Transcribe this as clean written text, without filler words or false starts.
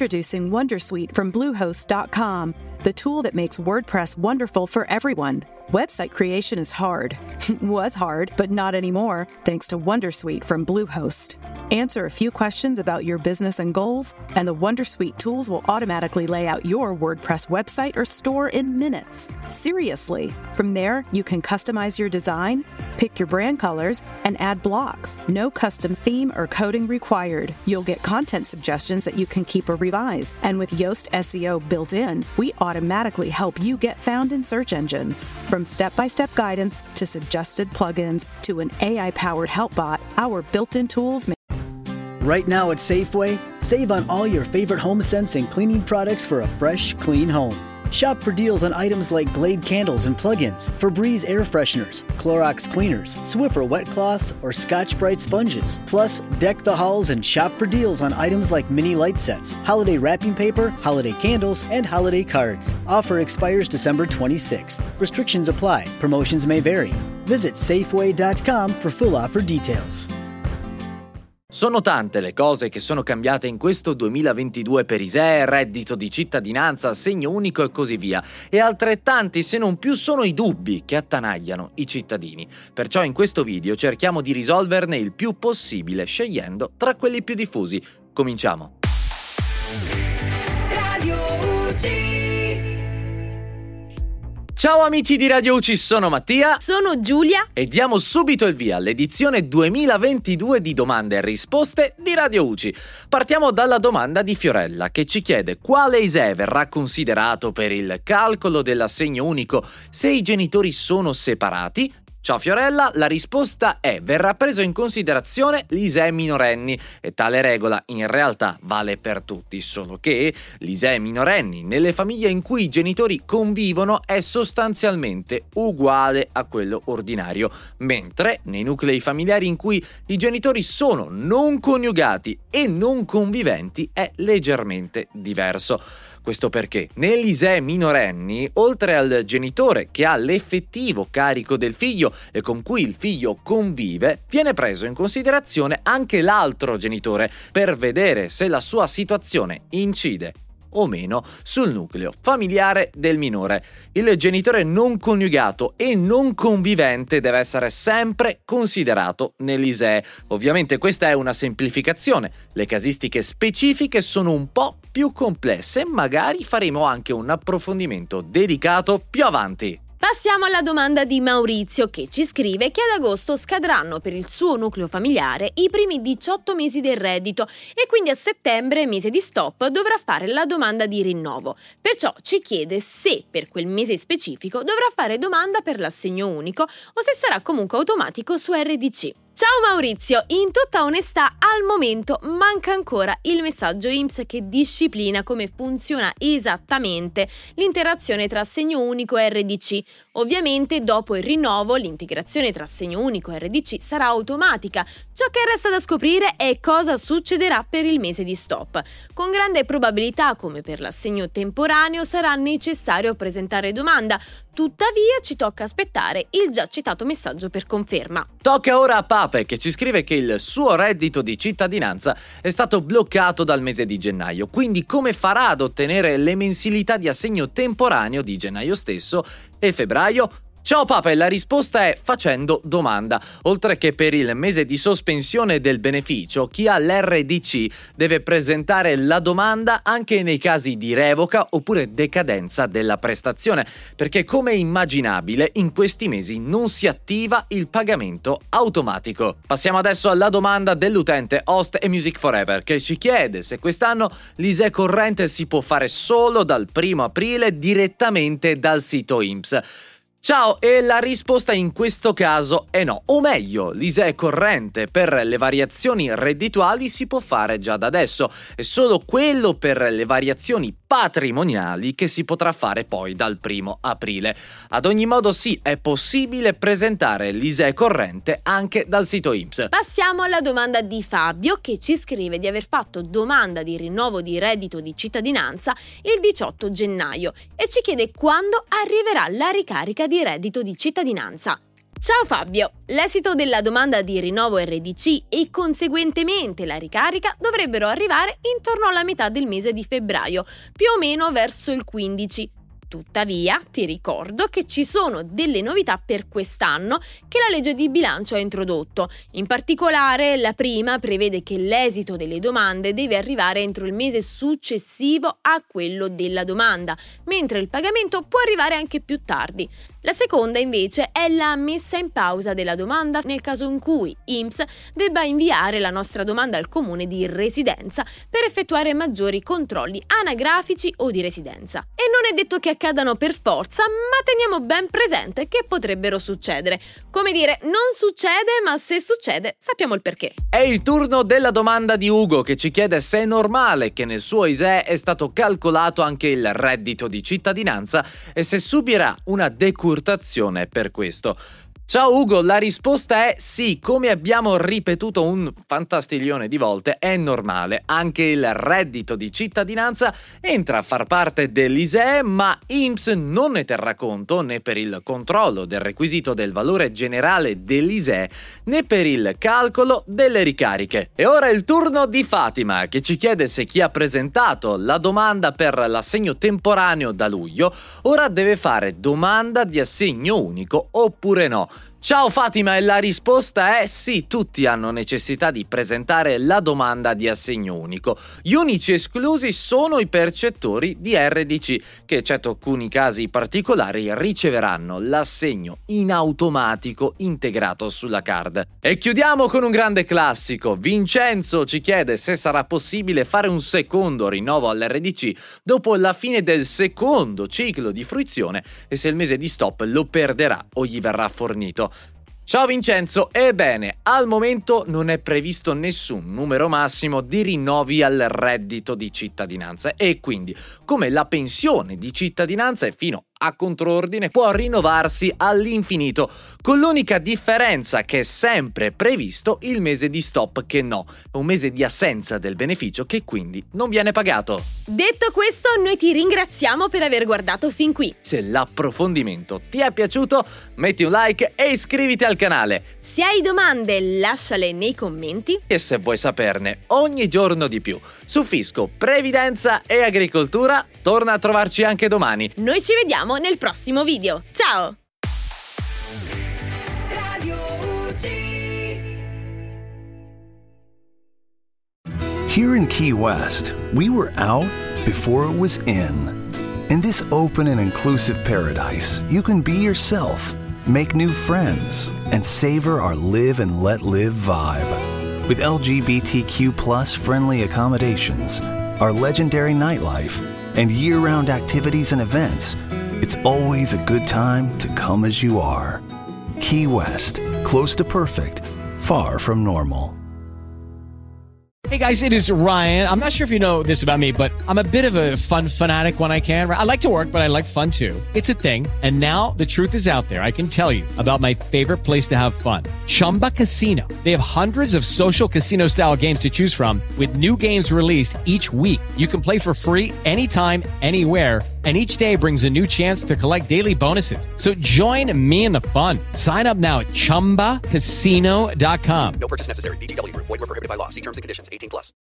Introducing Wondersuite from Bluehost.com, the tool that makes WordPress wonderful for everyone. Website creation is hard. Was hard, but not anymore, thanks to Wondersuite from Bluehost. Answer a few questions about your business and goals, and the Wondersuite tools will automatically lay out your WordPress website or store in minutes. Seriously. From there, you can customize your design, pick your brand colors, and add blocks. No custom theme or coding required. You'll get content suggestions that you can keep or revise. And with Yoast SEO built in, we automatically help you get found in search engines. From step-by-step guidance to suggested plugins to an AI-powered help bot, our built-in tools make. Right now at Safeway, save on all your favorite HomeSense and cleaning products for a fresh, clean home. Shop for deals on items like Glade candles and plug-ins, Febreze air fresheners, Clorox cleaners, Swiffer wet cloths, or Scotch-Brite sponges. Plus, deck the halls and shop for deals on items like mini light sets, holiday wrapping paper, holiday candles, and holiday cards. Offer expires December 26th. Restrictions apply. Promotions may vary. Visit Safeway.com for full offer details. Sono tante le cose che sono cambiate in questo 2022 per ISEE, reddito di cittadinanza, assegno unico e così via. E altrettanti, se non più, sono i dubbi che attanagliano i cittadini. Perciò in questo video cerchiamo di risolverne il più possibile, scegliendo tra quelli più diffusi. Cominciamo! Radio UG. Ciao amici di Radio UC, sono Mattia. Sono Giulia. E diamo subito il via all'edizione 2022 di domande e risposte di Radio UC. Partiamo dalla domanda di Fiorella, che ci chiede quale ISEE verrà considerato per il calcolo dell'assegno unico se i genitori sono separati. Ciao Fiorella, la risposta è: verrà preso in considerazione l'ISEE minorenni e tale regola in realtà vale per tutti, solo che l'ISEE minorenni nelle famiglie in cui i genitori convivono è sostanzialmente uguale a quello ordinario, mentre nei nuclei familiari in cui i genitori sono non coniugati e non conviventi è leggermente diverso. Questo perché nell'ISEE minorenni, oltre al genitore che ha l'effettivo carico del figlio e con cui il figlio convive, viene preso in considerazione anche l'altro genitore per vedere se la sua situazione incide o meno sul nucleo familiare del minore. Il genitore non coniugato e non convivente deve essere sempre considerato nell'ISEE. Ovviamente questa è una semplificazione, le casistiche specifiche sono un po' più complesse, magari faremo anche un approfondimento dedicato più avanti. Passiamo alla domanda di Maurizio, che ci scrive che ad agosto scadranno per il suo nucleo familiare i primi 18 mesi del reddito e quindi a settembre, mese di stop, dovrà fare la domanda di rinnovo. Perciò ci chiede se per quel mese specifico dovrà fare domanda per l'assegno unico o se sarà comunque automatico su RDC. Ciao Maurizio, in tutta onestà al momento manca ancora il messaggio INPS che disciplina come funziona esattamente l'interazione tra assegno unico e RDC. Ovviamente dopo il rinnovo l'integrazione tra assegno unico e RDC sarà automatica. Ciò che resta da scoprire è cosa succederà per il mese di stop. Con grande probabilità, come per l'assegno temporaneo, sarà necessario presentare domanda. Tuttavia ci tocca aspettare il già citato messaggio per conferma. Tocca ora a Pape, che ci scrive che il suo reddito di cittadinanza è stato bloccato dal mese di gennaio, quindi come farà ad ottenere le mensilità di assegno temporaneo di gennaio stesso e febbraio? Ciao Pape, la risposta è facendo domanda. Oltre che per il mese di sospensione del beneficio, chi ha l'RDC deve presentare la domanda anche nei casi di revoca oppure decadenza della prestazione, perché come immaginabile in questi mesi non si attiva il pagamento automatico. Passiamo adesso alla domanda dell'utente Host e Music Forever, che ci chiede se quest'anno l'ISEE corrente si può fare solo dal 1 aprile direttamente dal sito INPS. Ciao, e la risposta in questo caso è no, o meglio, l'ISEE corrente per le variazioni reddituali si può fare già da adesso, è solo quello per le variazioni patrimoniali che si potrà fare poi dal 1 aprile. Ad ogni modo sì, è possibile presentare l'ISEE corrente anche dal sito INPS. Passiamo alla domanda di Fabio, che ci scrive di aver fatto domanda di rinnovo di reddito di cittadinanza il 18 gennaio e ci chiede quando arriverà la ricarica di reddito di cittadinanza. Ciao Fabio! L'esito della domanda di rinnovo RDC e conseguentemente la ricarica dovrebbero arrivare intorno alla metà del mese di febbraio, più o meno verso il 15. Tuttavia, ti ricordo che ci sono delle novità per quest'anno che la legge di bilancio ha introdotto. In particolare, la prima prevede che l'esito delle domande deve arrivare entro il mese successivo a quello della domanda, mentre il pagamento può arrivare anche più tardi. La seconda, invece, è la messa in pausa della domanda nel caso in cui INPS debba inviare la nostra domanda al comune di residenza per effettuare maggiori controlli anagrafici o di residenza. E non è detto che accadano per forza, ma teniamo ben presente che potrebbero succedere. Come dire, non succede, ma se succede sappiamo il perché. È il turno della domanda di Ugo, che ci chiede se è normale che nel suo ISEE è stato calcolato anche il reddito di cittadinanza e se subirà una decurtazione per questo. Ciao Ugo, la risposta è sì, come abbiamo ripetuto un fantastiglione di volte, è normale. Anche il reddito di cittadinanza entra a far parte dell'ISEE, ma INPS non ne terrà conto né per il controllo del requisito del valore generale dell'ISEE né per il calcolo delle ricariche. E ora è il turno di Fatima, che ci chiede se chi ha presentato la domanda per l'assegno temporaneo da luglio ora deve fare domanda di assegno unico oppure no. Ciao Fatima, e la risposta è sì, tutti hanno necessità di presentare la domanda di assegno unico. Gli unici esclusi sono i percettori di RDC, che eccetto alcuni casi particolari riceveranno l'assegno in automatico integrato sulla card. E chiudiamo con un grande classico. Vincenzo ci chiede se sarà possibile fare un secondo rinnovo all'RDC dopo la fine del secondo ciclo di fruizione e se il mese di stop lo perderà o gli verrà fornito. Ciao Vincenzo, ebbene, al momento non è previsto nessun numero massimo di rinnovi al reddito di cittadinanza e quindi, come la pensione di cittadinanza è fino a controordine, può rinnovarsi all'infinito, con l'unica differenza che è sempre previsto il mese di stop che no, un mese di assenza del beneficio che quindi non viene pagato. Detto questo, noi ti ringraziamo per aver guardato fin qui. Se l'approfondimento ti è piaciuto, metti un like e iscriviti al canale. Se hai domande, lasciale nei commenti. E se vuoi saperne ogni giorno di più su fisco, previdenza e agricoltura, torna a trovarci anche domani. Noi ci vediamo nel prossimo video. Ciao! Here in Key West, we were out before it was in. In this open and inclusive paradise, you can be yourself, make new friends, and savor our live and let live vibe. With LGBTQ+ friendly accommodations, our legendary nightlife, and year-round activities and events, it's always a good time to come as you are. Key West, close to perfect, far from normal. Hey guys, it is Ryan. I'm not sure if you know this about me, but I'm a bit of a fun fanatic when I can. I like to work, but I like fun too. It's a thing. And now the truth is out there. I can tell you about my favorite place to have fun. Chumba Casino. They have hundreds of social casino style games to choose from with new games released each week. You can play for free anytime, anywhere. And each day brings a new chance to collect daily bonuses. So join me in the fun. Sign up now at ChumbaCasino.com. No purchase necessary. VGW Group. Void where prohibited by law. See terms and conditions. 18+.